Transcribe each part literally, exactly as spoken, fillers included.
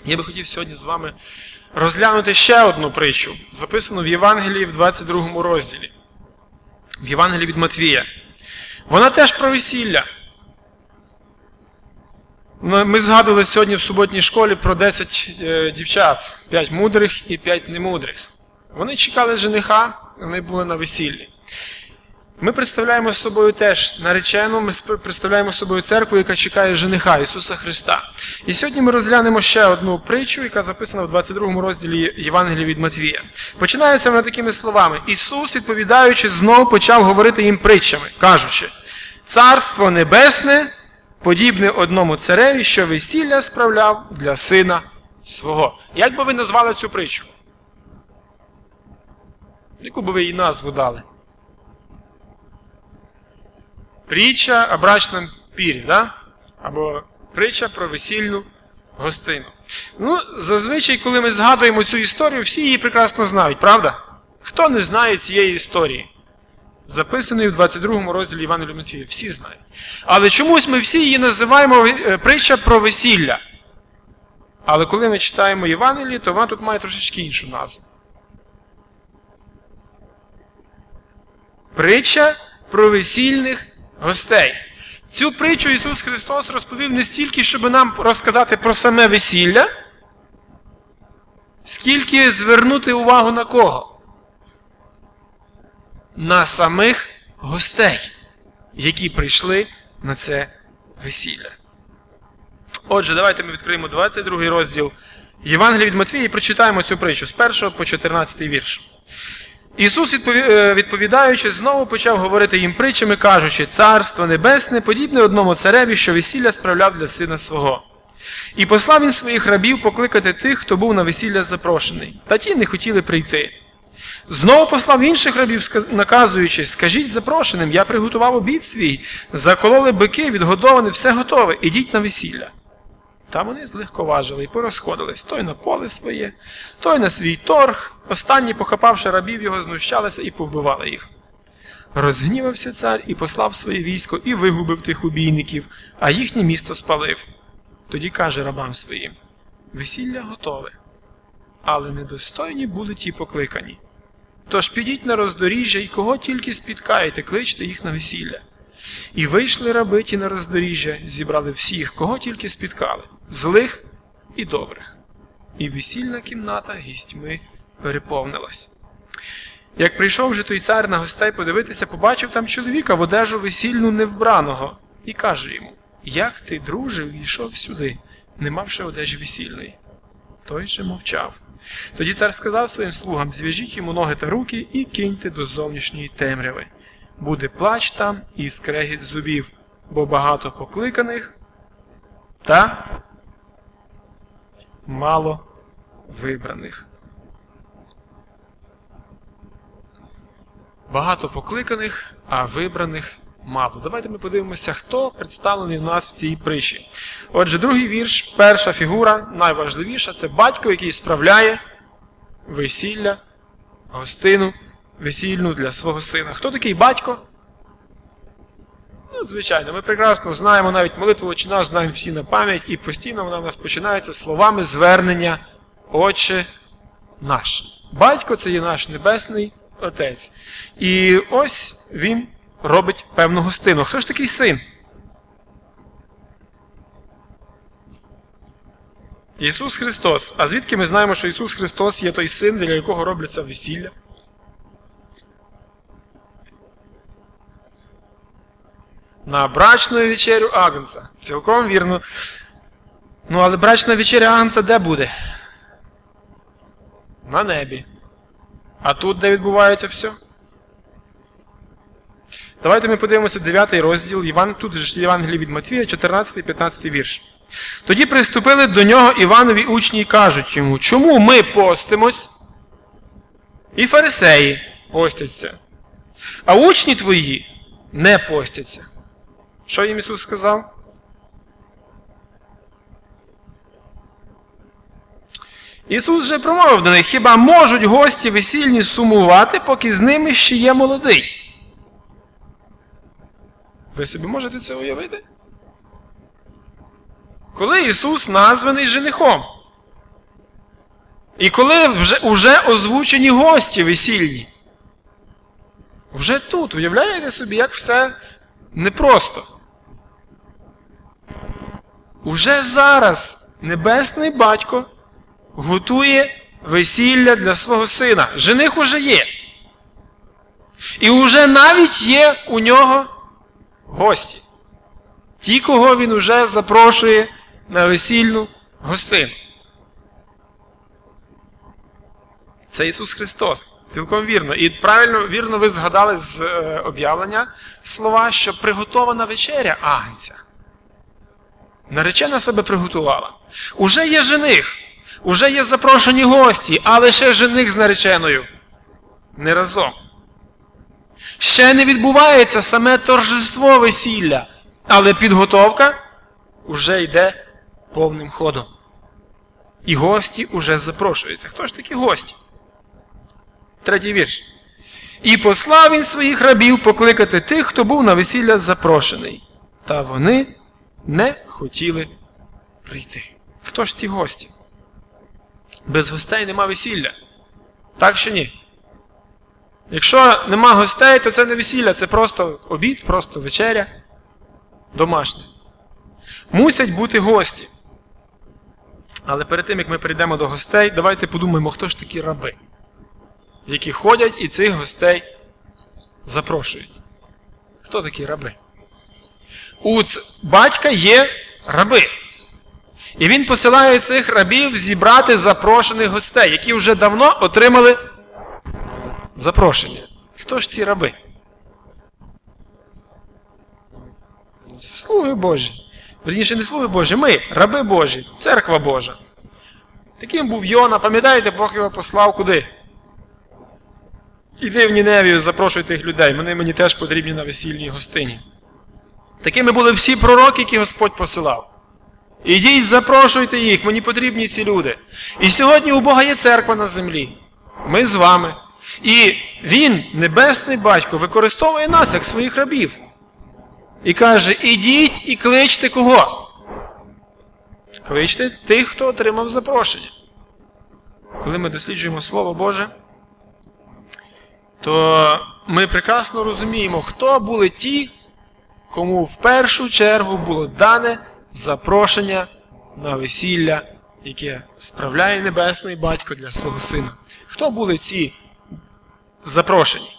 Я би хотів сьогодні з вами розглянути ще одну притчу, записану в Євангелії в двадцять другому розділі. В Євангелії від Матвія. Вона теж про весілля. Ми згадували сьогодні в суботній школі про десять дівчат. п'ять мудрих і п'ять немудрих. Вони чекали жениха, вони були на весіллі. Ми представляємо собою теж наречену, ми представляємо собою церкву, яка чекає жениха Ісуса Христа. І сьогодні ми розглянемо ще одну притчу, яка записана в двадцять другому розділі Євангелія від Матвія. Починається вона такими словами. Ісус, відповідаючи, знов почав говорити їм притчами, кажучи: «Царство небесне подібне одному цареві, що весілля справляв для сина свого». Як би ви назвали цю притчу? Яку би ви їй назву дали? Притча о брачному пірі, да? Або притча про весільну гостину. Ну, зазвичай, коли ми згадуємо цю історію, всі її прекрасно знають, правда? Хто не знає цієї історії? Записаної в двадцять другому розділі Євангелія від Матвія. Всі знають. Але чомусь ми всі її називаємо притча про весілля. Але коли ми читаємо Євангеліє, то вона тут має трошечки іншу назву. Притча про весільних гостей. Цю притчу Ісус Христос розповів не стільки, щоб нам розказати про саме весілля, скільки звернути увагу на кого? На самих гостей, які прийшли на це весілля. Отже, давайте ми відкриємо двадцять другий розділ Євангелія від Матвія і прочитаємо цю притчу з першого по чотирнадцятий вірш. Ісус, відповідаючи, знову почав говорити їм притчами, кажучи: «Царство небесне подібне одному цареві, що весілля справляв для сина свого. І послав він своїх рабів покликати тих, хто був на весілля запрошений. Та ті не хотіли прийти. Знову послав інших рабів, наказуючи: скажіть запрошеним, я приготував обід свій, закололи бики, відгодоване, все готове, ідіть на весілля». Та вони злегковажили і порозходились, той на поле своє, той на свій торг. Останні, похапавши рабів його, знущалися і повбивали їх. Розгнівався цар і послав своє військо, і вигубив тих убійників, а їхнє місто спалив. Тоді каже рабам своїм: весілля готове, але недостойні були ті покликані. Тож підіть на роздоріжжя, і кого тільки спіткаєте, кличте їх на весілля. І вийшли раби ті на роздоріжжя, зібрали всіх, кого тільки спіткали, злих і добрих. І весільна кімната гістьми переповнилась. Як прийшов же той цар на гостей подивитися, побачив там чоловіка в одежу весільну невбраного, і каже йому: «Як ти, друже, війшов сюди, не мавши одежі весільної?» Той же мовчав. Тоді цар сказав своїм слугам: «Зв'яжіть йому ноги та руки і киньте до зовнішньої темряви. Буде плач там і скрегіт зубів, бо багато покликаних та мало вибраних». Багато покликаних, а вибраних мало. Давайте ми подивимося, хто представлений у нас в цій притчі. Отже, другий вірш, перша фігура, найважливіша, це батько, який справляє весілля, гостину весільну для свого сина. Хто такий батько? Ну, звичайно, ми прекрасно знаємо, навіть молитву «Отче наш» знаємо всі на пам'ять, і постійно вона в нас починається словами звернення «Отче наш». Батько – це є наш Небесний Отець. І ось він робить певну гостину. Хто ж такий син? Ісус Христос. А звідки ми знаємо, що Ісус Христос є той син, для якого робляться весілля? На брачну вечерю Агнця. Цілком вірно. Ну, але брачна вечеря Агнця де буде? На небі. А тут де відбувається все? Давайте ми подивимося дев'ятий розділ, Іван, тут же Євангелія від Матвія, чотирнадцятий-п'ятнадцятий вірш. Тоді приступили до нього Іванові учні і кажуть йому: «Чому ми постимось? І фарисеї постяться, а учні твої не постяться». Що їм Ісус сказав? Ісус же промовив до них: «Хіба можуть гості весільні сумувати, поки з ними ще є молодий?» Ви собі можете це уявити? Коли Ісус названий женихом, І коли вже, вже озвучені гості весільні, вже тут, уявляєте собі, як все непросто. Уже зараз Небесний Батько готує весілля для свого сина. Жених уже є. І уже навіть є у нього гості. Ті, кого він уже запрошує на весільну гостину. Це Ісус Христос. Цілком вірно. І правильно, вірно ви згадали з е, об'явлення слова, що приготована вечеря Агнця. Наречена себе приготувала. Уже є жених, уже є запрошені гості, але ще жених з нареченою не разом. Ще не відбувається саме торжество весілля, але підготовка уже йде повним ходом. І гості уже запрошуються. Хто ж такі гості? Третій вірш. «І послав він своїх рабів покликати тих, хто був на весілля запрошений. Та вони не хотіли прийти». Хто ж ці гості? Без гостей нема весілля. Так чи ні? Якщо нема гостей, то це не весілля, це просто обід, просто вечеря домашня. Мусять бути гості. Але перед тим, як ми перейдемо до гостей, давайте подумаємо, хто ж такі раби, які ходять і цих гостей запрошують. Хто такі раби? У батька є раби. І він посилає цих рабів зібрати запрошених гостей, які вже давно отримали запрошення. Хто ж ці раби? Слуги Божі. Верніше, не слуги Божі, ми, раби Божі, церква Божа. Таким був Йона, пам'ятаєте, Бог його послав куди? Іди в Ніневію, запрошуй тих людей, вони мені теж потрібні на весільній гостині. Такими були всі пророки, які Господь посилав. Ідіть, запрошуйте їх, мені потрібні ці люди. І сьогодні у Бога є церква на землі. Ми з вами. І Він, Небесний Батько, використовує нас, як своїх рабів. І каже, ідіть і кличте кого? Кличте тих, хто отримав запрошення. Коли ми досліджуємо Слово Боже, то ми прекрасно розуміємо, хто були ті, кому в першу чергу було дане запрошення на весілля, яке справляє Небесний Батько для свого сина. Хто були ці запрошені?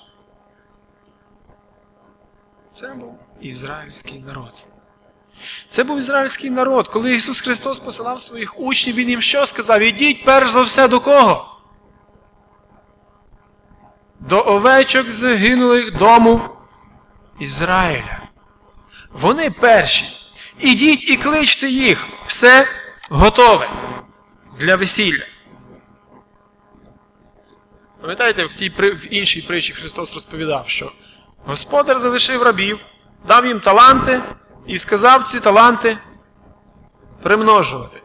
Це був ізраїльський народ. Це був ізраїльський народ. Коли Ісус Христос посилав своїх учнів, Він їм що сказав? Ідіть перш за все до кого? До овечок загинулих дому Ізраїля. Вони перші. Ідіть і кличте їх. Все готове для весілля. Пам'ятаєте, в, тій, в іншій притчі Христос розповідав, що Господар залишив рабів, дав їм таланти і сказав ці таланти примножувати.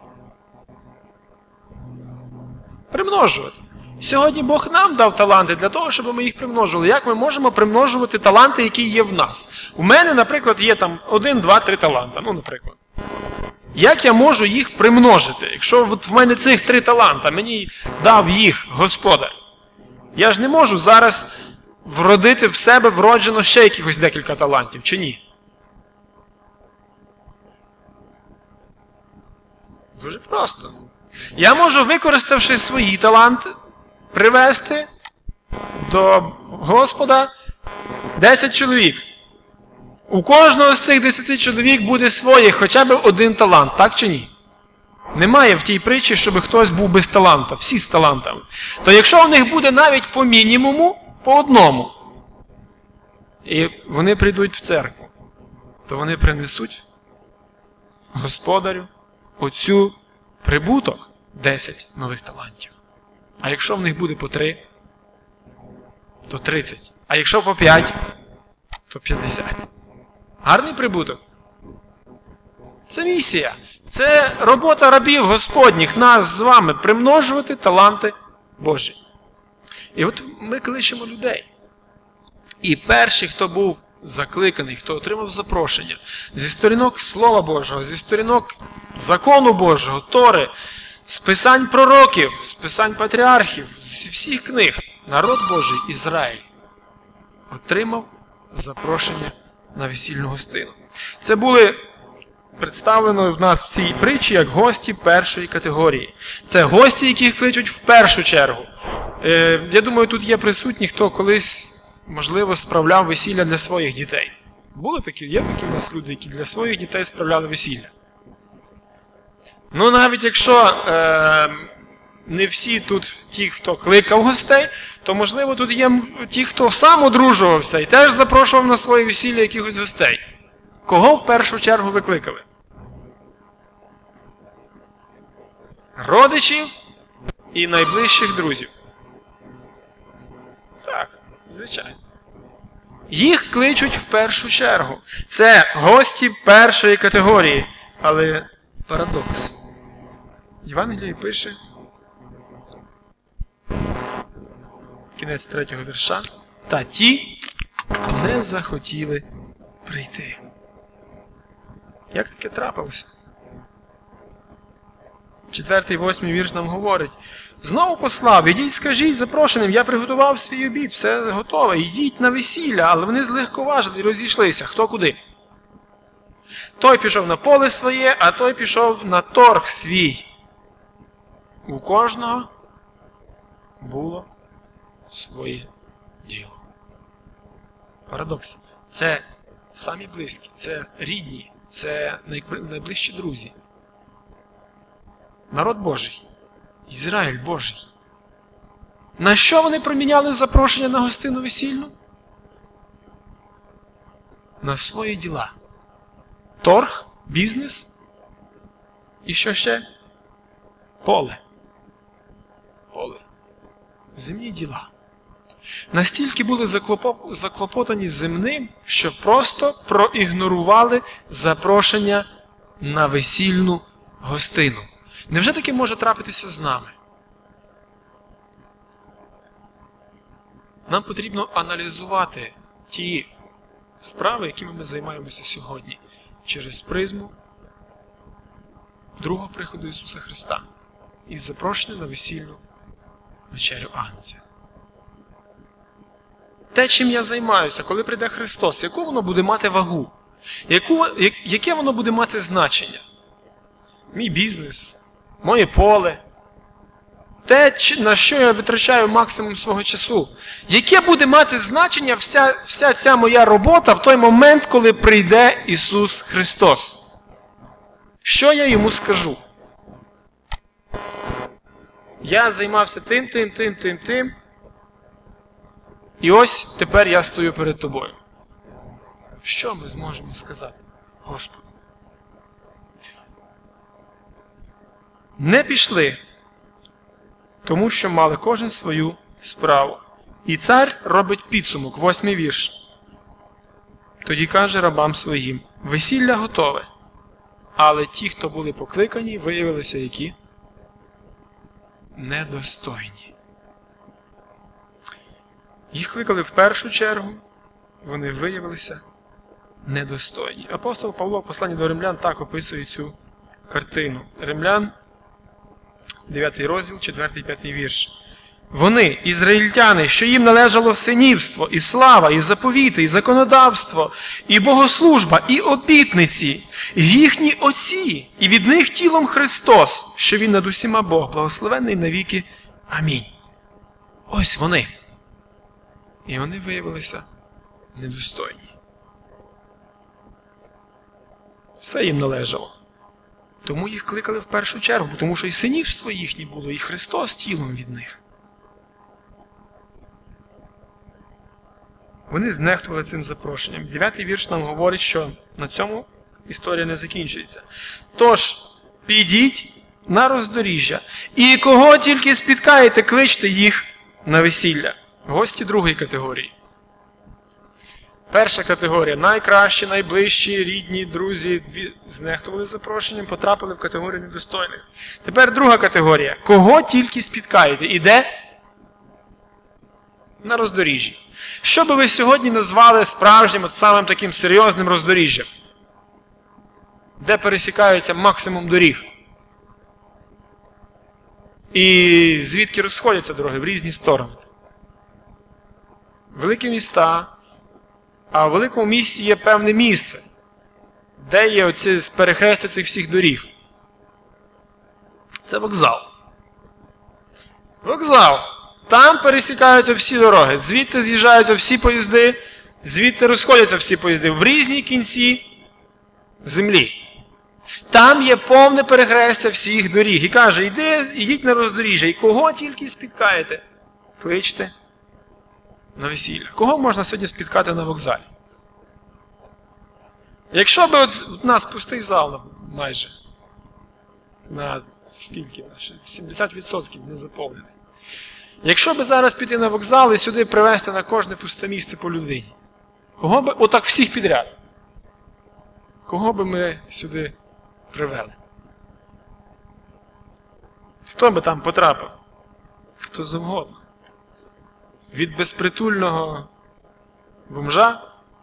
Примножувати. Сьогодні Бог нам дав таланти для того, щоб ми їх примножували. Як ми можемо примножувати таланти, які є в нас? У мене, наприклад, є там один, два, три таланта. Ну, наприклад. Як я можу їх примножити? Якщо от в мене цих три таланта, мені дав їх Господар. Я ж не можу зараз вродити в себе вроджено ще якихось декілька талантів, чи ні? Дуже просто. Я можу, використавши свої таланти, привести до Господа десять чоловік. У кожного з цих десяти чоловік буде своє хоча б один талант, так чи ні? Немає в тій притчі, щоб хтось був без таланта, всі з талантами. То якщо у них буде навіть по мінімуму, по одному, і вони прийдуть в церкву, то вони принесуть Господарю оцю прибуток десять нових талантів. А якщо в них буде по три, то тридцять. А якщо по п'ять, то п'ятдесят. Гарний прибуток? Це місія. Це робота рабів Господніх, нас з вами, примножувати таланти Божі. І от ми кличемо людей. І перший, хто був закликаний, хто отримав запрошення зі сторінок Слова Божого, зі сторінок закону Божого, Тори, з писань пророків, з писань патріархів, з всіх книг народ Божий Ізраїль отримав запрошення на весільну гостину. Це були представлено в нас в цій притчі як гості першої категорії. Це гості, яких кличуть в першу чергу. Е, я думаю, тут є присутні, хто колись, можливо, справляв весілля для своїх дітей. Були такі, є такі в нас люди, які для своїх дітей справляли весілля. Ну, навіть якщо е, не всі тут ті, хто кликав гостей, то, можливо, тут є ті, хто сам одружувався і теж запрошував на своє весілля якихось гостей. Кого в першу чергу викликали? Родичів і найближчих друзів. Так, звичайно. Їх кличуть в першу чергу. Це гості першої категорії. Але парадокс. Євангеліє пише, кінець третього вірша, та ті не захотіли прийти. Як таке трапилося? Четвертий, восьмий вірш нам говорить. Знову послав, ідіть, скажіть запрошеним, я приготував свій обід, все готове, ідіть на весілля, але вони злегковажили і розійшлися, хто куди. Той пішов на поле своє, а той пішов на торг свій. У кожного було своє діло. Парадокс. Це самі близькі, це рідні, це найближчі друзі. Народ Божий. Ізраїль Божий. На що вони проміняли запрошення на гостину весільну? На свої діла. Торг, бізнес і що ще? Поле. Поле. Земні діла. Настільки були заклопотані земним, що просто проігнорували запрошення на весільну гостину. Невже таке може трапитися з нами? Нам потрібно аналізувати ті справи, якими ми займаємося сьогодні, через призму другого приходу Ісуса Христа і запрошення на весільну вечерю Агнця. Те, чим я займаюся, коли прийде Христос, яку воно буде мати вагу? Яку, яке воно буде мати значення? Мій бізнес, моє поле, те, на що я витрачаю максимум свого часу. Яке буде мати значення вся, вся ця моя робота в той момент, коли прийде Ісус Христос? Що я йому скажу? Я займався тим, тим, тим, тим, тим. І ось тепер я стою перед тобою. Що ми зможемо сказати Господу? Не пішли, тому що мали кожен свою справу. І цар робить підсумок, восьмий вірш. Тоді каже рабам своїм, весілля готове, але ті, хто були покликані, виявилися які? Недостойні. Їх кликали в першу чергу, вони виявилися недостойні. Апостол Павло в посланні до римлян так описує цю картину. Римлян, дев'ятий розділ, четвертий, п'ятий вірш. Вони, ізраїльтяни, що їм належало синівство, і слава, і заповіти, і законодавство, і богослужба, і обітниці, і їхні отці, і від них тілом Христос, що Він над усіма Бог, благословенний навіки. Амінь. Ось вони. І вони виявилися недостойні. Все їм належало. Тому їх кликали в першу чергу, тому що і синівство їхнє було, і Христос тілом від них. Вони знехтували цим запрошенням. Дев'ятий вірш нам говорить, що на цьому історія не закінчується. Тож, підіть на роздоріжжя, і кого тільки спіткаєте, кличте їх на весілля. Гості другої категорії. Перша категорія – найкращі, найближчі, рідні, друзі, знехтували запрошенням, потрапили в категорію недостойних. Тепер друга категорія. Кого тільки спіткаєте? І де? На роздоріжжі. Що би ви сьогодні назвали справжнім, от самим таким серйозним роздоріжжям? Де пересікаються максимум доріг? І звідки розходяться дороги в різні сторони. Великі міста, а в великому місті є певне місце, де є оці перехрестя цих всіх доріг. Це вокзал. Вокзал. Там пересікаються всі дороги, звідти з'їжджаються всі поїзди, звідти розходяться всі поїзди в різні кінці землі. Там є повне перехрестя всіх доріг. І каже, йди, йдіть на роздоріжжя, і кого тільки спіткаєте, кличте на весілля. Кого можна сьогодні спіткати на вокзалі? Якщо б от у нас пустий зал майже, на скільки? сімдесят відсотків не заповнений. Якщо б зараз піти на вокзал і сюди привезти на кожне пусте місце по людині, кого б, отак всіх підряд, кого б ми сюди привели? Хто би там потрапив? Хто завгодно. Від безпритульного бомжа,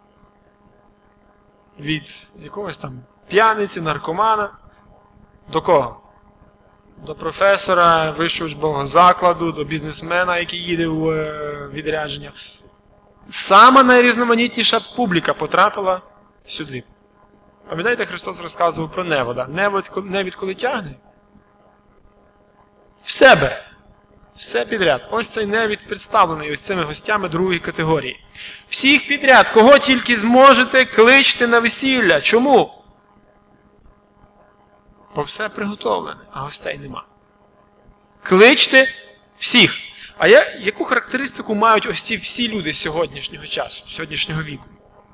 від якогось там п'яниці, наркомана, до кого? До професора вищого учбового закладу, до бізнесмена, який їде в відрядження. Сама найрізноманітніша публіка потрапила сюди. Пам'ятаєте, Христос розказував про невода. Невід коли тягне, все бере. Все підряд. Ось цей невід представлений ось цими гостями другої категорії. Всіх підряд, кого тільки зможете, кличте на весілля. Чому? Бо все приготовлене, а гостей нема. Кличте всіх. А я, яку характеристику мають ось ці всі люди сьогоднішнього часу, сьогоднішнього віку?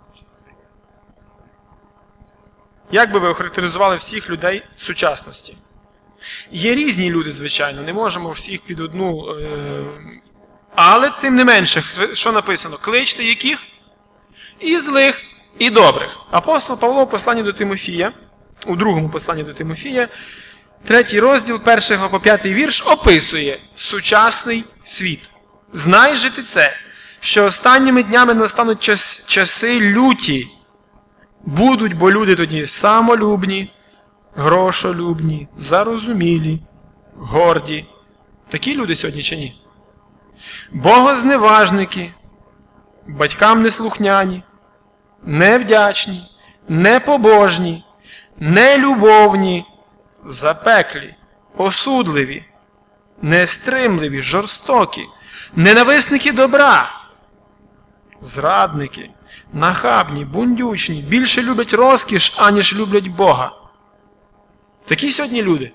Як би ви охарактеризували всіх людей сучасності? Є різні люди, звичайно, не можемо всіх під одну... Е... Але, тим не менше, що написано? Кличте яких? І злих, і добрих. Апостол Павло в посланні до Тимофія, у другому посланні до Тимофія, третій розділ, першого по п'ятий вірш, описує сучасний світ. Знай же ти це, що останніми днями настануть час, часи люті. Будуть, бо люди тоді самолюбні, грошолюбні, зарозумілі, горді. Такі люди сьогодні чи ні? Богозневажники, батькам неслухняні, невдячні, непобожні, нелюбовні, запеклі, осудливі, нестримливі, жорстокі, ненависники добра, зрадники, нахабні, бундючні, більше люблять розкіш, аніж люблять Бога. Такі сьогодні люди.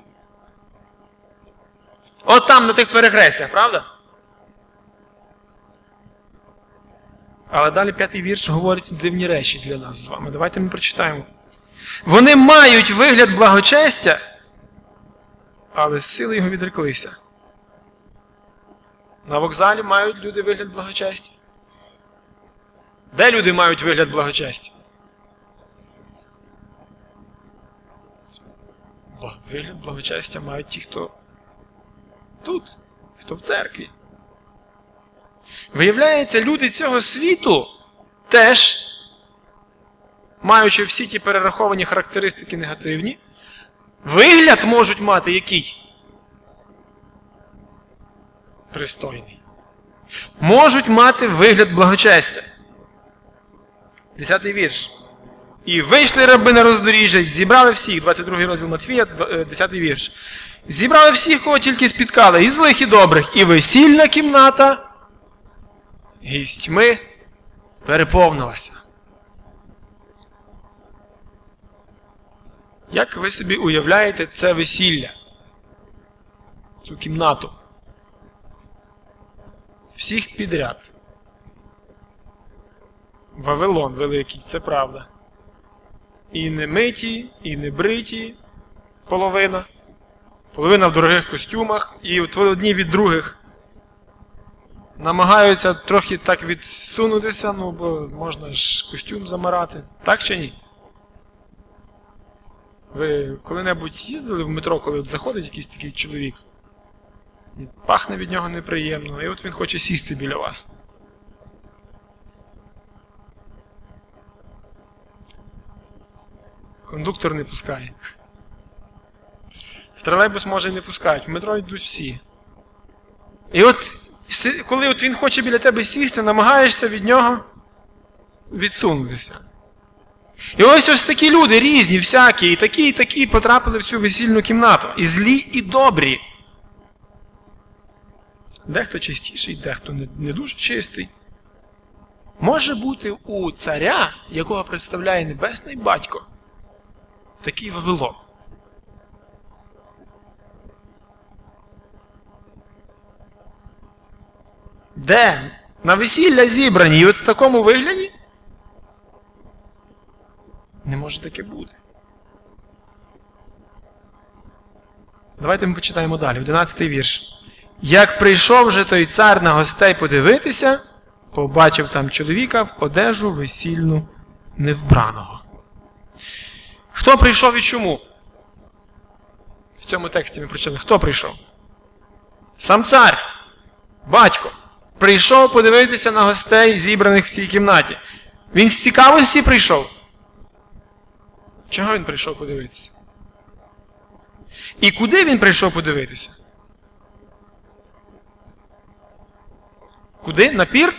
От там, на тих перехрестях, правда? Але далі п'ятий вірш говорить дивні речі для нас з вами. Давайте ми прочитаємо. Вони мають вигляд благочестя, але з сили його відреклися. На вокзалі мають люди вигляд благочестя. Де люди мають вигляд благочестя? Вигляд благочестя мають ті, хто тут, хто в церкві. Виявляється, люди цього світу теж, маючи всі ті перераховані характеристики негативні, вигляд можуть мати який? Пристойний. Можуть мати вигляд благочестя. Десятий вірш. І вийшли раби на роздоріжжя, зібрали всіх, двадцять другий розділ Матфія, десятий вірш. Зібрали всіх, кого тільки спіткали, і злих, і добрих, і весільна кімната гістьми переповнилася. Як ви собі уявляєте це весілля? Цю кімнату? Всіх підряд. Вавилон великий, це правда. І не миті, і не бриті половина. Половина в дорогих костюмах, і от одні від других намагаються трохи так відсунутися, ну, бо можна ж костюм замарати. Так чи ні? Ви коли-небудь їздили в метро, коли от заходить якийсь такий чоловік? І пахне від нього неприємно, і от він хоче сісти біля вас. Кондуктор не пускає. В тролейбус, може, і не пускають. В метро йдуть всі. І от, коли от він хоче біля тебе сісти, намагаєшся від нього відсунутися. І ось ось такі люди, різні, всякі, і такі, і такі потрапили в цю весільну кімнату. І злі, і добрі. Дехто чистіший, дехто не, не дуже чистий. Може бути у царя, якого представляє Небесний Батько, такий Вавилон. Де? На весілля зібрані, і от в такому вигляді? Не може таке бути. Давайте ми почитаємо далі, одинадцятий вірш. Як прийшов же той цар на гостей подивитися, побачив там чоловіка в одежу весільну невбраного. Хто прийшов і чому? В цьому тексті ми прочитали. Хто прийшов? Сам цар, батько, прийшов подивитися на гостей, зібраних в цій кімнаті. Він з цікавості прийшов? Чого він прийшов подивитися? І куди він прийшов подивитися? Куди? На пір?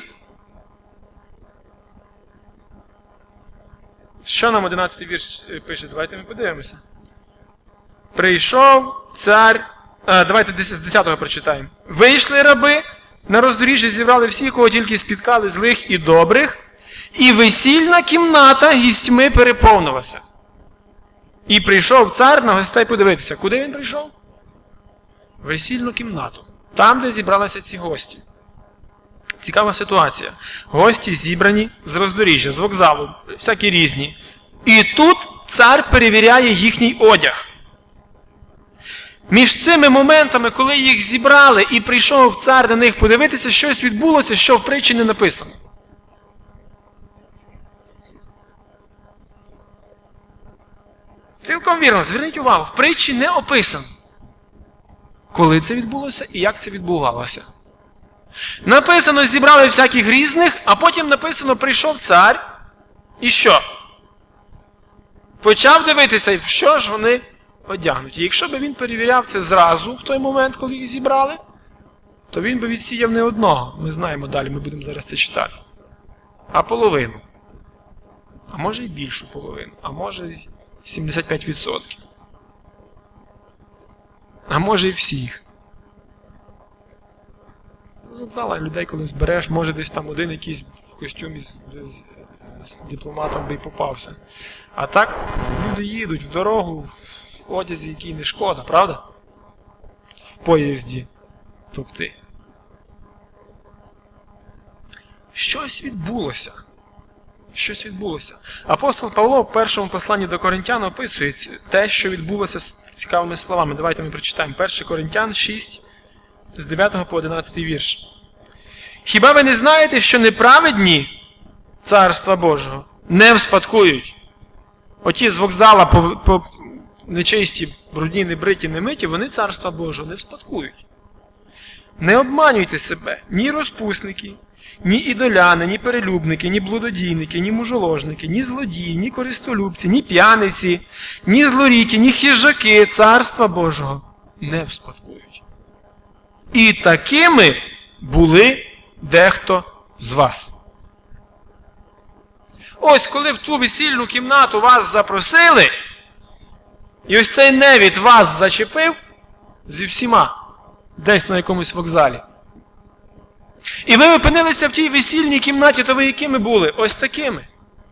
Що нам одинадцятий вірш пише? Давайте ми подивимося. Прийшов цар... А, давайте з десятого прочитаємо. Вийшли раби, на роздоріжжя зібрали всіх, кого тільки спіткали, злих і добрих, і весільна кімната гістьми переповнилася. І прийшов цар на гостей подивитися. Куди він прийшов? Весільну кімнату. Там, де зібралися ці гості. Цікава ситуація. Гості зібрані з роздоріжжя, з вокзалу, всякі різні. І тут цар перевіряє їхній одяг. Між цими моментами, коли їх зібрали і прийшов цар на них подивитися, щось відбулося, що в притчі не написано. Цілком вірно, зверніть увагу, в притчі не описано, коли це відбулося і як це відбувалося. Написано, зібрали всяких різних, а потім написано, прийшов цар, і що? Почав дивитися, в що ж вони одягнуті. Якщо б він перевіряв це зразу, в той момент, коли їх зібрали, то він би відсіяв не одного. Ми знаємо далі, ми будемо зараз це читати. А половину. А може і більшу половину. А може і сімдесят п'ять відсотків. А може і всіх. З вокзала людей, коли збереш, може десь там один якийсь в костюмі з, з, з дипломатом би й попався. А так люди їдуть в дорогу в одязі, який не шкода, правда? В поїзді. Тобто. Щось відбулося. Щось відбулося. Апостол Павло в першому посланні до Коринтян описує те, що відбулося з цікавими словами. Давайте ми прочитаємо. перше Коринтян шість, з дев'ятого по одинадцятий вірш. Хіба ви не знаєте, що неправедні Царства Божого не вспадкують? Оті з вокзала по, по нечисті, брудні, небриті, немиті, вони Царства Божого не вспадкують. Не обманюйте себе, ні розпусники, ні ідоляни, ні перелюбники, ні блудодійники, ні мужоложники, ні злодії, ні користолюбці, ні п'яниці, ні злоріки, ні хижаки Царства Божого не вспадкують. І такими були дехто з вас. Ось коли в ту весільну кімнату вас запросили, і ось цей невід вас зачепив зі всіма, десь на якомусь вокзалі. І ви опинилися в тій весільній кімнаті, то ви якими були? Ось такими.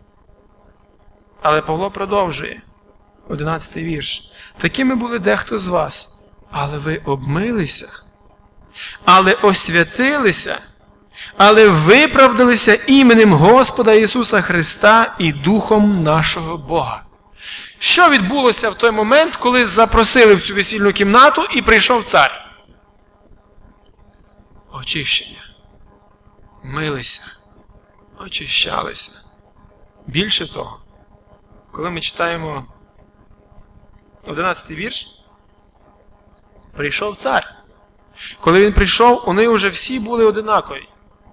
Але Павло продовжує. одинадцятий вірш. Такими були дехто з вас, але ви обмилися, але освятилися, але виправдалися іменем Господа Ісуса Христа і Духом нашого Бога. Що відбулося в той момент, коли запросили в цю весільну кімнату і прийшов цар? Очищення. Милися. Очищалися. Більше того, коли ми читаємо одинадцятий вірш, прийшов цар. Коли він прийшов, вони вже всі були одинакові.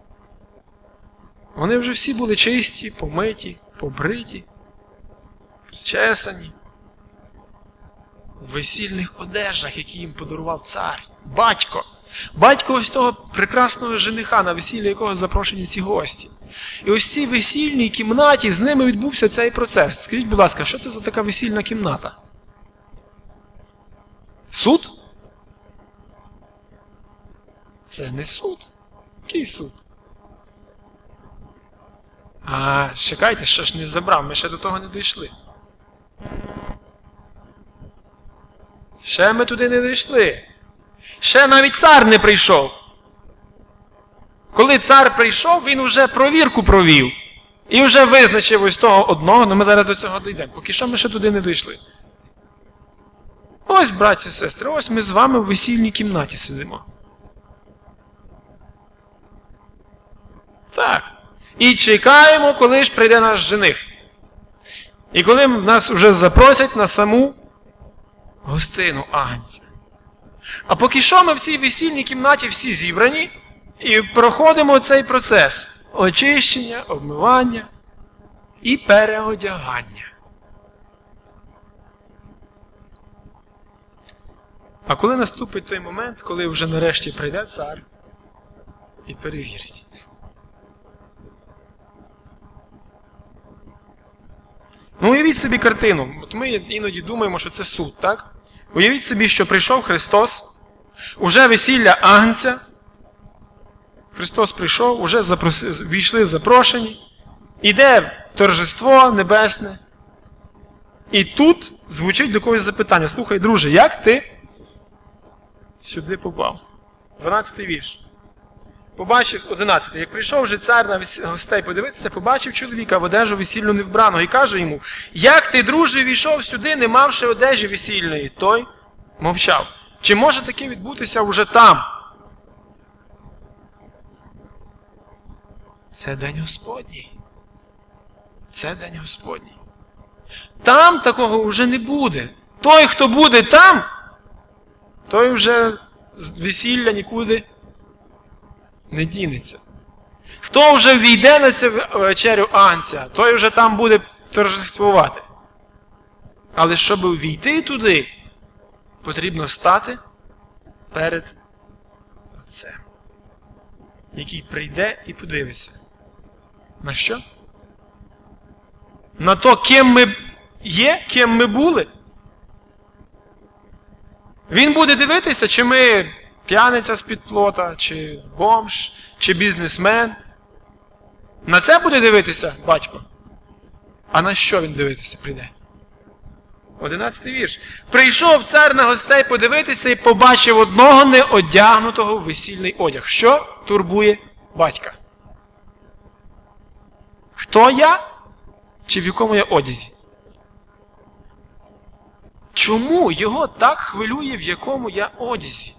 Вони вже всі були чисті, помиті, побриті, причесані, в весільних одежах, які їм подарував цар, батько. Батько ось того прекрасного жениха, на весілля якого запрошені ці гості. І ось в цій весільній кімнаті з ними відбувся цей процес. Скажіть, будь ласка, що це за така весільна кімната? Суд? Це не суд. Який суд? А, чекайте, ще ж не забрав, ми ще до того не дійшли. Ще ми туди не дійшли. Ще навіть цар не прийшов. Коли цар прийшов, він вже провірку провів. І вже визначив ось того одного, але ми зараз до цього дійдемо. Поки що ми ще туди не дійшли. Ось, браті і сестри, ось ми з вами в весільній кімнаті сидимо. Так. І чекаємо, коли ж прийде наш жених. І коли нас вже запросять на саму гостину агнця. А поки що ми в цій весільній кімнаті всі зібрані і проходимо цей процес очищення, обмивання і переодягання. А коли наступить той момент, коли вже нарешті прийде цар і перевірить? Ну, уявіть собі картину. От ми іноді думаємо, що це суд, так? Уявіть собі, що прийшов Христос, уже весілля агнця. Христос прийшов, уже запрос... війшли запрошені. Іде торжество небесне. І тут звучить до когось запитання. Слухай, друже, як ти сюди попав? дванадцятий вірш. Побачив, одинадцятий. Як прийшов же цар на гостей подивитися, побачив чоловіка в одежу весільну невбраного і каже йому: як ти, друже, війшов сюди, не мавши одежі весільної? Той мовчав. Чи може таке відбутися вже там? Це день Господній. Це день Господній. Там такого вже не буде. Той, хто буде там, той вже з весілля нікуди не дінеться. Хто вже війде на цю вечерю агнця, той вже там буде торжествувати. Але щоб війти туди, потрібно стати перед Отцем, який прийде і подивиться. На що? На то, ким ми є, ким ми були. Він буде дивитися, чи ми п'яниця з-під плота, чи бомж, чи бізнесмен. На це буде дивитися батько. А на що він дивитися прийде? Одинадцятий вірш. Прийшов цар на гостей подивитися і побачив одного неодягнутого в весільний одяг. Що турбує батька? Хто я? Чи в якому я одязі? Чому його так хвилює, в якому я одязі?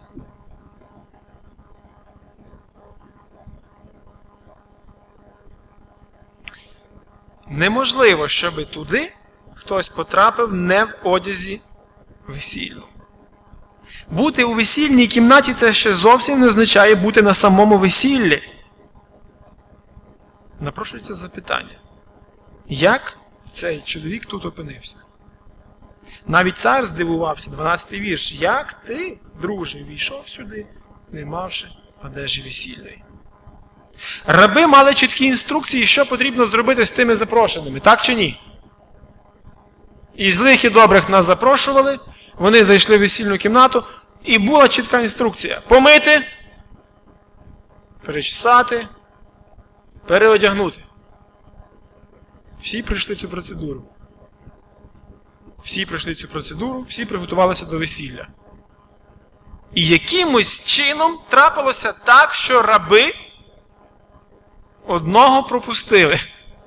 Неможливо, щоб туди хтось потрапив не в одязі весільному. Бути у весільній кімнаті – це ще зовсім не означає бути на самому весіллі. Напрошується запитання. Як цей чоловік тут опинився? Навіть цар здивувався, дванадцятий вірш. Як ти, друже, війшов сюди, не мавши одежі весільної? Раби мали чіткі інструкції, що потрібно зробити з тими запрошеними, так чи ні? І злих і добрих нас запрошували, вони зайшли в весільну кімнату, і була чітка інструкція. Помити, перечесати, переодягнути. Всі пройшли цю процедуру. Всі пройшли цю процедуру, всі приготувалися до весілля. І якимось чином трапилося так, що раби одного пропустили.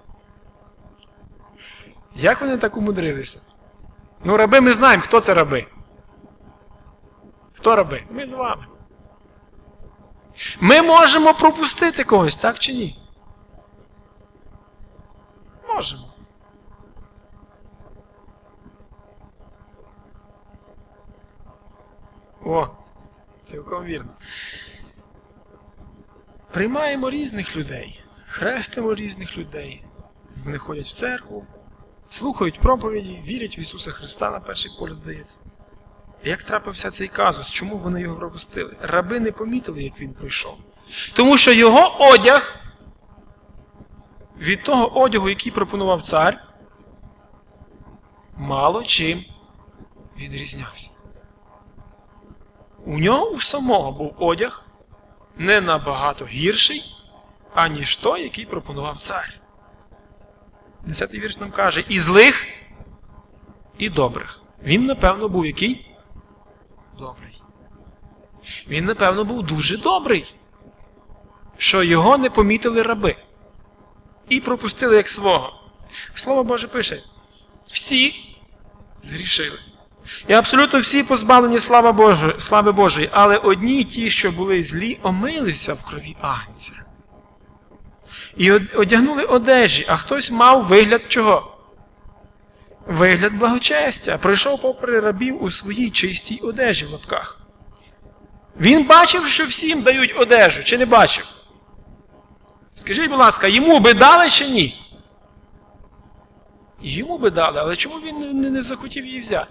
Як вони так умудрилися? Ну, раби ми знаємо, хто це раби. Хто раби? Ми з вами. Ми можемо пропустити когось, так чи ні? Можемо. О, цілком вірно. Приймаємо різних людей, хрестимо різних людей. Вони ходять в церкву, слухають проповіді, вірять в Ісуса Христа, на перший погляд здається. Як трапився цей казус? Чому вони його пропустили? Раби не помітили, як він прийшов. Тому що його одяг від того одягу, який пропонував цар, мало чим відрізнявся. У нього у самого був одяг не набагато гірший, аніж той, який пропонував цар. Десятий вірш нам каже, і злих, і добрих. Він, напевно, був який? Добрий. Він, напевно, був дуже добрий, що його не помітили раби і пропустили як свого. Слово Боже пише, всі згрішили. І абсолютно всі позбавлені слави Божої, слави Божої, але одні ті, що були злі, омилися в крові агнця. І одягнули одежі, а хтось мав вигляд чого? Вигляд благочестя. Пройшов попри рабів у своїй чистій одежі в лапках. Він бачив, що всім дають одежу, чи не бачив? Скажіть, будь ласка, йому би дали чи ні? Йому би дали, але чому він не, не, не захотів її взяти?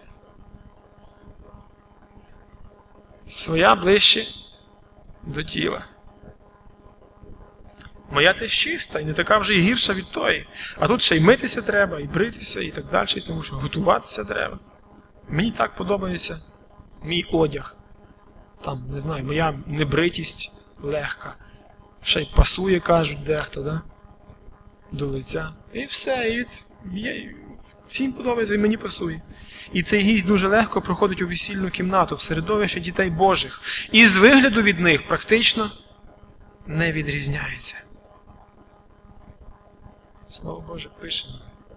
Своя ближче до тіла. Моя теж чиста, і не така вже й гірша від тої. А тут ще й митися треба, і бритися, і так далі, тому що готуватися треба. Мені так подобається мій одяг. Там, не знаю, моя небритість легка. Ще й пасує, кажуть дехто, да? До лиця. І все, і є, всім подобається, і мені пасує. І цей гість дуже легко проходить у весільну кімнату, в середовище дітей Божих. І з вигляду від них практично не відрізняється. Слово Боже пише.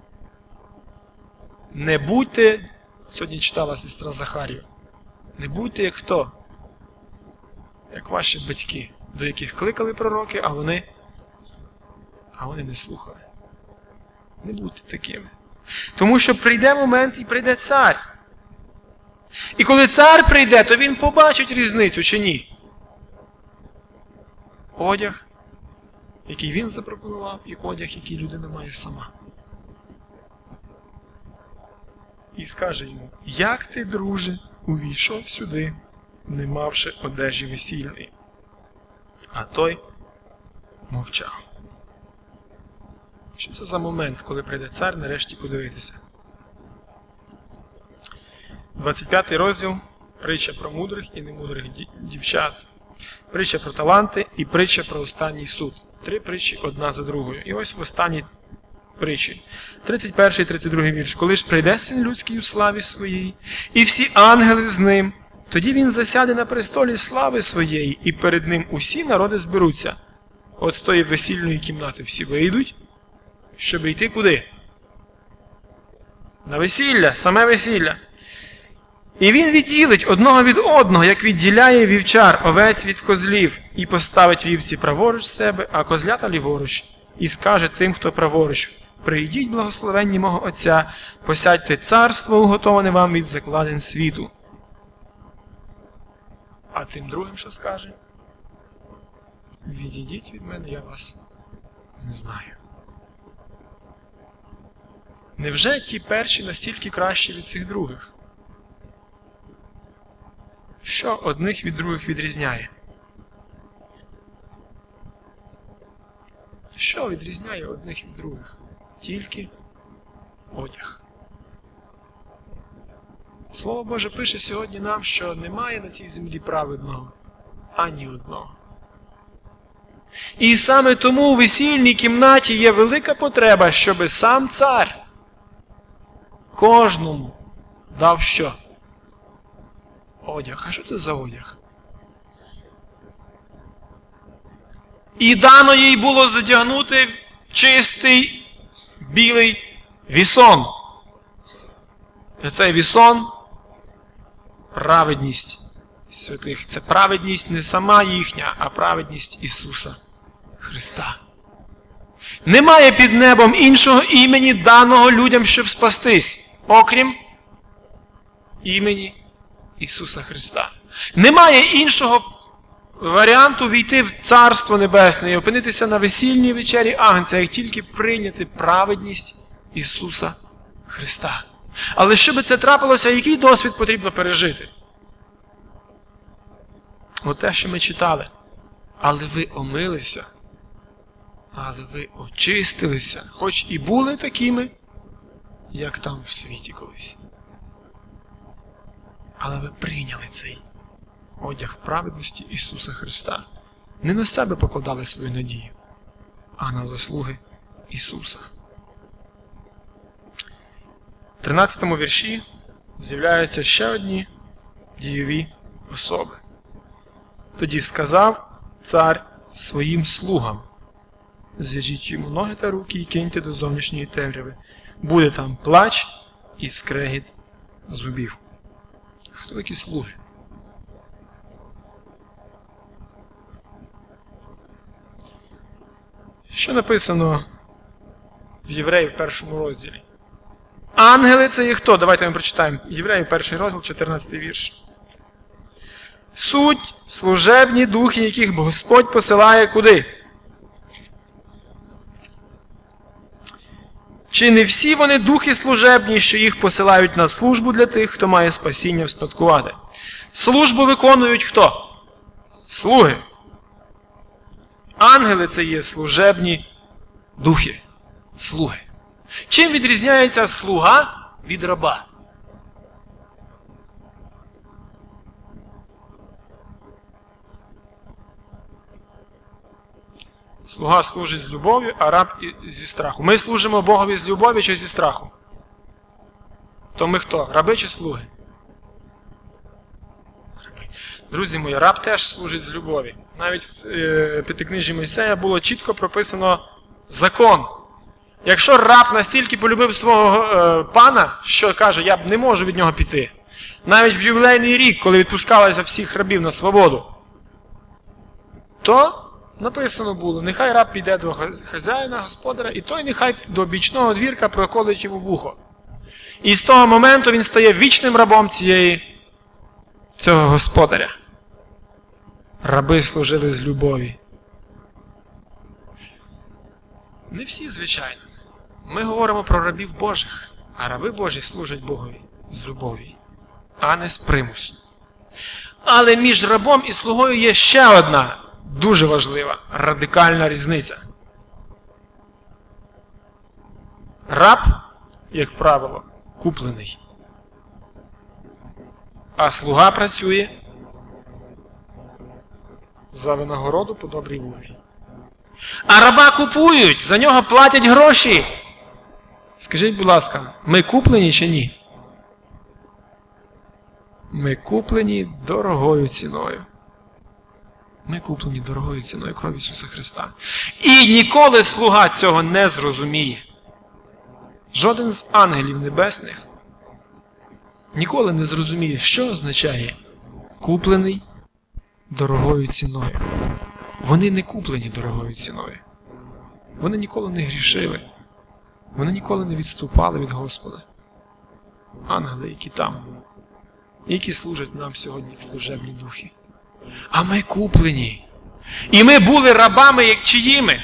Не будьте, сьогодні читала сестра Захарія, не будьте як хто? Як ваші батьки, до яких кликали пророки, а вони, а вони не слухали. Не будьте такими. Тому що прийде момент і прийде цар. І коли цар прийде, то він побачить різницю чи ні? Одяг, який він запропонував, і одяг, який людина має сама. І скаже йому, як ти, друже, увійшов сюди, не мавши одежі весільної? А той мовчав. Що це за момент, коли прийде цар нарешті подивитися? двадцять п'ятий розділ, притча про мудрих і немудрих дівчат. Притча про таланти і притча про останній суд. Три притчі одна за другою. І ось в останній притчі. тридцять перший тридцять другий вірш. Коли ж прийде Син людський у славі своїй, і всі ангели з ним, тоді він засяде на престолі слави своєї, і перед ним усі народи зберуться. От з тої весільної кімнати всі вийдуть, щоб йти куди? На весілля, саме весілля. І він відділить одного від одного, як відділяє вівчар овець від козлів, і поставить вівці праворуч себе, а козлята ліворуч, і скаже тим, хто праворуч, прийдіть, благословенні мого Отця, посядьте царство, уготоване вам від закладин світу. А тим другим що скаже? Відійдіть від мене, я вас не знаю. Невже ті перші настільки кращі від цих других? Що одних від других відрізняє? Що відрізняє одних від других? Тільки одяг. Слово Боже пише сьогодні нам, що немає на цій землі праведного ані одного. І саме тому у весільній кімнаті є велика потреба, щоби сам цар кожному дав що? Одяг. А що це за одяг? І дано їй було задягнути чистий білий вісон. І цей вісон – праведність святих. Це праведність не сама їхня, а праведність Ісуса Христа. Немає під небом іншого імені, даного людям, щоб спастись, окрім імені Ісуса Христа. Немає іншого варіанту війти в Царство Небесне і опинитися на весільній вечері Агнця, як тільки прийняти праведність Ісуса Христа. Але щоб це трапилося, який досвід потрібно пережити? Оте, що ми читали. Але ви омилися, але ви очистилися, хоч і були такими, як там в світі колись. Але ви прийняли цей одяг праведності Ісуса Христа. Не на себе покладали свою надію, а на заслуги Ісуса. В тринадцятому вірші з'являються ще одні дійові особи. Тоді сказав цар своїм слугам: зв'яжіть йому ноги та руки і киньте до зовнішньої темряви. Буде там плач і скрегіт зубів. Хто такі слуги? Що написано в Євреїв в першому розділі? Ангели – це є хто? Давайте ми прочитаємо. Євреїв перший розділ, чотирнадцятий вірш. Суть – служебні духи, яких Господь посилає куди? Чи не всі вони духи служебні, що їх посилають на службу для тих, хто має спасіння вспадкувати? Службу виконують хто? Слуги. Ангели – це є служебні духи. Слуги. Чим відрізняється слуга від раба? Слуга служить з любов'ю, а раб зі страху. Ми служимо Богові з любов'ю чи зі страху? То ми хто? Раби чи слуги? Раби. Друзі мої, раб теж служить з любові. Навіть в е, П'ятикнижжі Мойсея було чітко прописано закон. Якщо раб настільки полюбив свого е, пана, що каже, я б не можу від нього піти. Навіть в ювілейний рік, коли відпускалися всіх рабів на свободу, то написано було, нехай раб піде до хазяїна, господаря, і той нехай до бічного двірка проколить йому вухо. І з того моменту він стає вічним рабом цієї, цього господаря. Раби служили з любові. Не всі, звичайно. Ми говоримо про рабів Божих, а раби Божі служать Богові з любові, а не з примусу. Але між рабом і слугою є ще одна дуже важлива, радикальна різниця. Раб, як правило, куплений, а слуга працює за винагороду по добрій волі. А раба купують, за нього платять гроші. Скажіть, будь ласка, ми куплені чи ні? Ми куплені дорогою ціною. Ми куплені дорогою ціною крові Ісуса Христа. І ніколи слуга цього не зрозуміє. Жоден з ангелів небесних ніколи не зрозуміє, що означає куплений дорогою ціною. Вони не куплені дорогою ціною. Вони ніколи не грішили. Вони ніколи не відступали від Господа. Ангели, які там, які служать нам сьогодні як служебні духи. А ми куплені. І ми були рабами, як чиїми?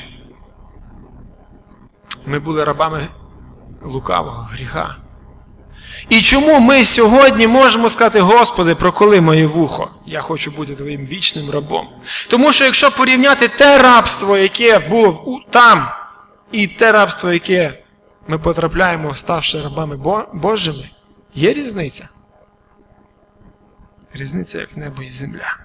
Ми були рабами лукавого гріха. І чому ми сьогодні можемо сказати: Господи, проколи моє вухо, я хочу бути Твоїм вічним рабом? Тому що якщо порівняти те рабство, яке було там, і те рабство, яке ми потрапляємо, ставши рабами Божими, є різниця. Різниця як небо і земля.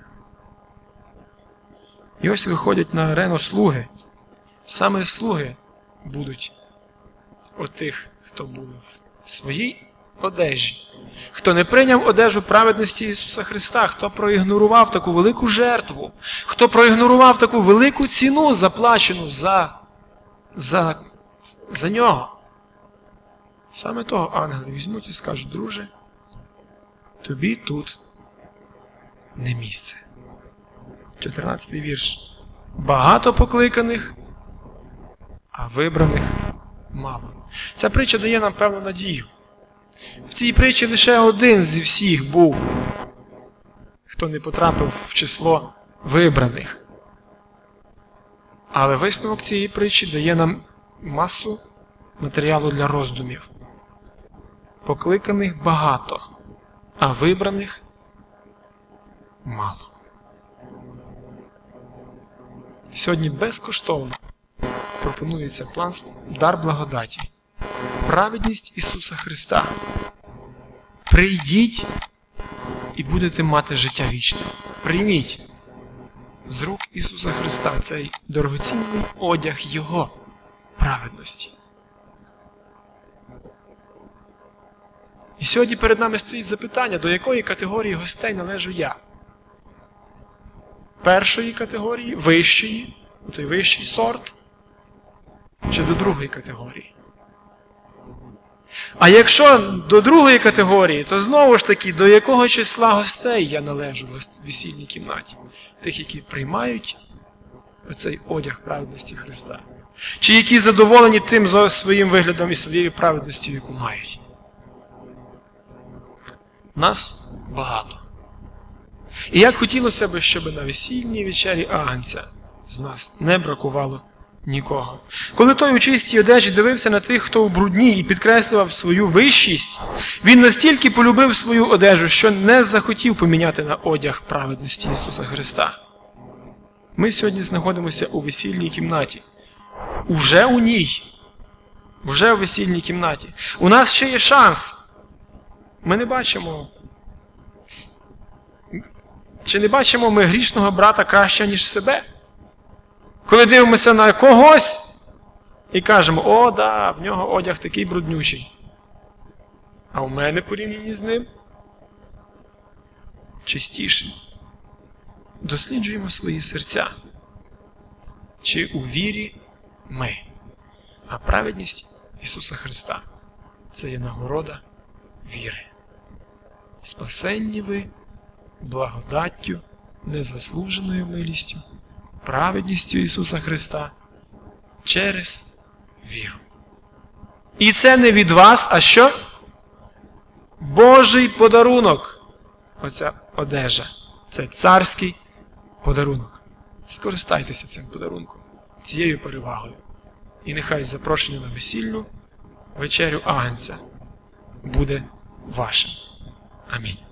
І ось виходять на арену слуги. Саме слуги будуть от тих, хто був в своїй одежі, хто не прийняв одежу праведності Ісуса Христа, хто проігнорував таку велику жертву, хто проігнорував таку велику ціну, заплачену за, за, за нього. Саме того ангели візьмуть і скажуть: друже, тобі тут не місце. чотирнадцятий вірш. Багато покликаних, а вибраних мало. Ця притча дає нам певну надію. В цій притчі лише один зі всіх був, хто не потрапив в число вибраних. Але висновок цієї притчі дає нам масу матеріалу для роздумів. Покликаних багато, а вибраних мало. Сьогодні безкоштовно пропонується план дар благодаті. Праведність Ісуса Христа. Прийдіть і будете мати життя вічне. Прийміть з рук Ісуса Христа цей дорогоцінний одяг Його праведності. І сьогодні перед нами стоїть запитання, до якої категорії гостей належу я. Першої категорії, вищої, той вищий сорт, чи до другої категорії. А якщо до другої категорії, то знову ж таки, до якого числа гостей я належу в весільній кімнаті? Тих, які приймають оцей одяг праведності Христа. Чи які задоволені тим своїм виглядом і своєю праведністю, яку мають? Нас багато. І як хотілося б, щоб на весільній вечері Агнця з нас не бракувало нікого. Коли той у чистій одежі дивився на тих, хто у брудній, і підкреслював свою вищість, він настільки полюбив свою одежу, що не захотів поміняти на одяг праведності Ісуса Христа. Ми сьогодні знаходимося у весільній кімнаті. Уже у ній. Уже у весільній кімнаті. У нас ще є шанс. Ми не бачимо. Чи не бачимо ми грішного брата краще, ніж себе? Коли дивимося на когось і кажемо, о, да, в нього одяг такий бруднючий. А у мене порівняно з ним чистіший. Досліджуємо свої серця. Чи у вірі ми? А праведність Ісуса Христа – це є нагорода віри. Спасенні ви благодаттю, незаслуженою милістю, праведністю Ісуса Христа через віру. І це не від вас, а що? Божий подарунок. Оця одежа. Це царський подарунок. Скористайтеся цим подарунком, цією перевагою. І нехай запрошення на весільну вечерю Агнця буде вашим. Амінь.